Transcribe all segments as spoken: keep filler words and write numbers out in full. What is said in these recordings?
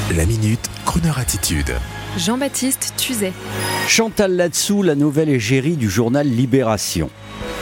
La Minute, Crooner Attitude. Jean-Baptiste Tuzet. Chantal Latsou, la nouvelle égérie du journal Libération.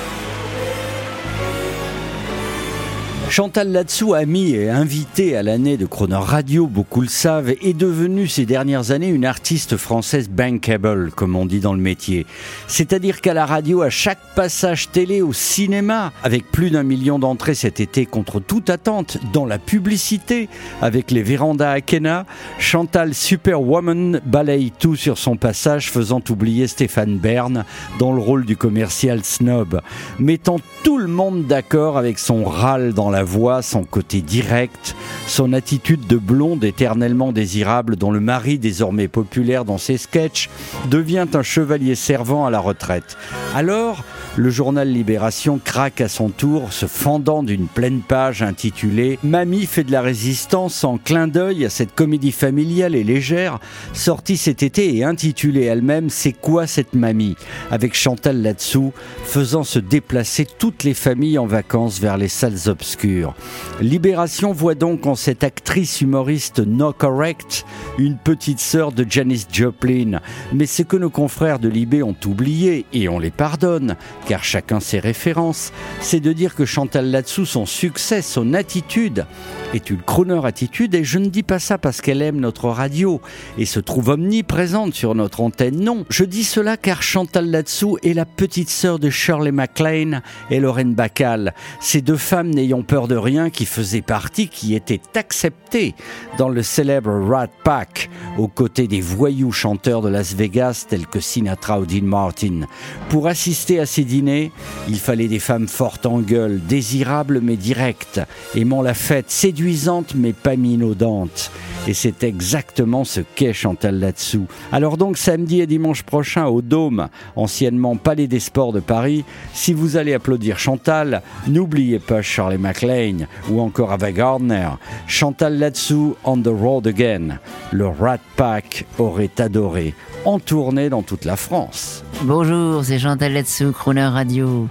Chantal Latsou, amie et invitée à l'année de Crooner Radio, beaucoup le savent, est devenue ces dernières années une artiste française bankable, comme on dit dans le métier. C'est-à-dire qu'à la radio, à chaque passage télé, au cinéma, avec plus d'un million d'entrées cet été contre toute attente, dans la publicité, avec les vérandas Akena, Chantal Superwoman balaye tout sur son passage, faisant oublier Stéphane Bern dans le rôle du commercial snob, mettant tout le monde d'accord avec son râle dans la voix, son côté direct, son attitude de blonde éternellement désirable dont le mari, désormais populaire dans ses sketchs, devient un chevalier servant à la retraite. Alors, le journal Libération craque à son tour, se fendant d'une pleine page intitulée « Mamie fait de la résistance » en clin d'œil à cette comédie familiale et légère, sortie cet été et intitulée elle-même « C'est quoi cette mamie ?» avec Chantal Latsou faisant se déplacer toutes les familles en vacances vers les salles obscures. Libération voit donc en cette actrice humoriste no correct une petite sœur de Janis Joplin. Mais ce que nos confrères de Libé ont oublié, et on les pardonne, car chacun ses références, c'est de dire que Chantal Latsou, son succès, son attitude, est une crooner attitude, et je ne dis pas ça parce qu'elle aime notre radio et se trouve omniprésente sur notre antenne, non. Je dis cela car Chantal Latsou est la petite sœur de Shirley MacLaine et Lorraine Bacall, ces deux femmes n'ayant peur de rien qui faisaient partie, qui étaient acceptées dans le célèbre Rat Pack, aux côtés des voyous chanteurs de Las Vegas tels que Sinatra ou Dean Martin. Pour assister à ces dîners, il fallait des femmes fortes en gueule, désirables mais directes, aimant la fête, séduisantes mais pas minaudantes. Et c'est exactement ce qu'est Chantal Latsou. Alors donc samedi et dimanche prochain au Dôme, anciennement Palais des Sports de Paris, si vous allez applaudir Chantal, n'oubliez pas Shirley MacLaine ou encore Ava Gardner. Chantal Latsou on the road again. Le Rat Pack aurait adoré, en tournée dans toute la France. Bonjour, c'est Chantal Latsou, Crooner Radio.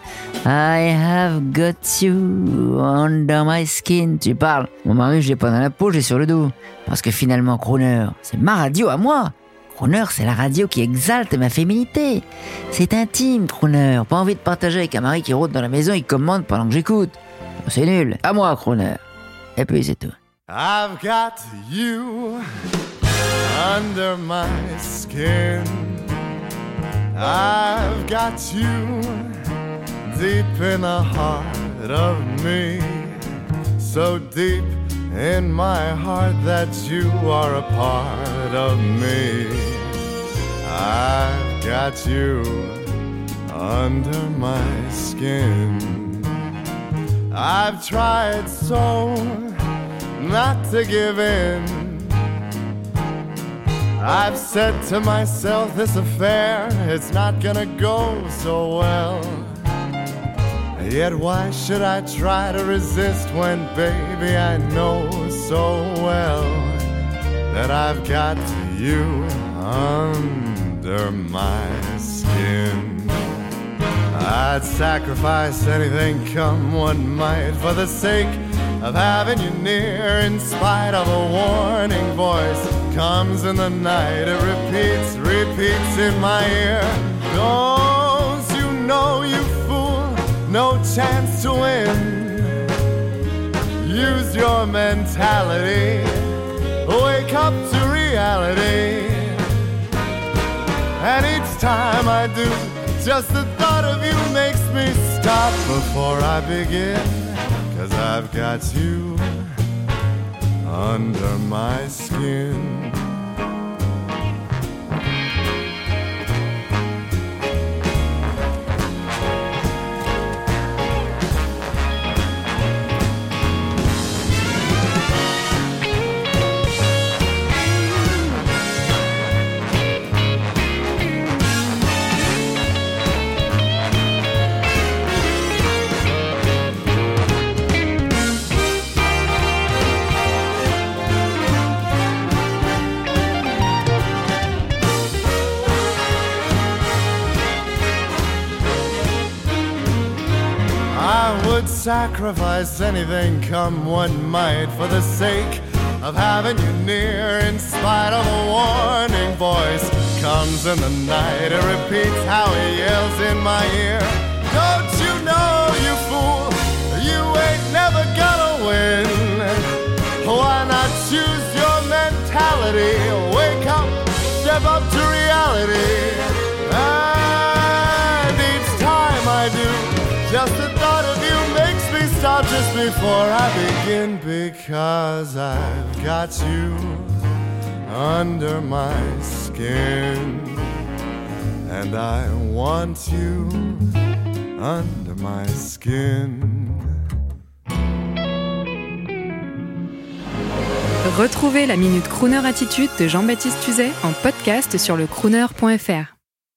I have got you under my skin. Tu parles. Mon mari, je l'ai pas dans la peau, j'ai sur le dos. Parce que finalement, Crooner, c'est ma radio à moi. Crooner, c'est la radio qui exalte ma féminité. C'est intime, Crooner. Pas envie de partager avec un mari qui rôde dans la maison et commande pendant que j'écoute. C'est nul. À moi, Crooner. Et puis, c'est tout. I've got you under my skin. I've got you deep in the heart of me, so deep in my heart that you are a part of me. I've got you under my skin. I've tried so not to give in. I've said to myself, this affair, it's not gonna go so well. Yet why should I try to resist when, baby, I know so well that I've got you under my skin. I'd sacrifice anything, come what might, for the sake of having you near, in spite of a warning voice comes in the night. It repeats, repeats in my ear. Don't you know, you fool, no chance to win. Use your mentality, wake up to reality. And each time I do, just the thought of you makes me stop before I begin. 'Cause I've got you under my skin. I would sacrifice anything, come what might, for the sake of having you near. In spite of a warning voice comes in the night, it repeats how he yells in my ear. Don't you know, you fool, you ain't never gonna win. Why not choose your mentality? Wake up, step up to reality. And each time I do, just the thought of you makes me stop just before I begin. Because I've got you under my skin, and I want you under my skin. Retrouvez la Minute Crooner Attitude de Jean-Baptiste Tuzet en podcast sur le crooner point f r.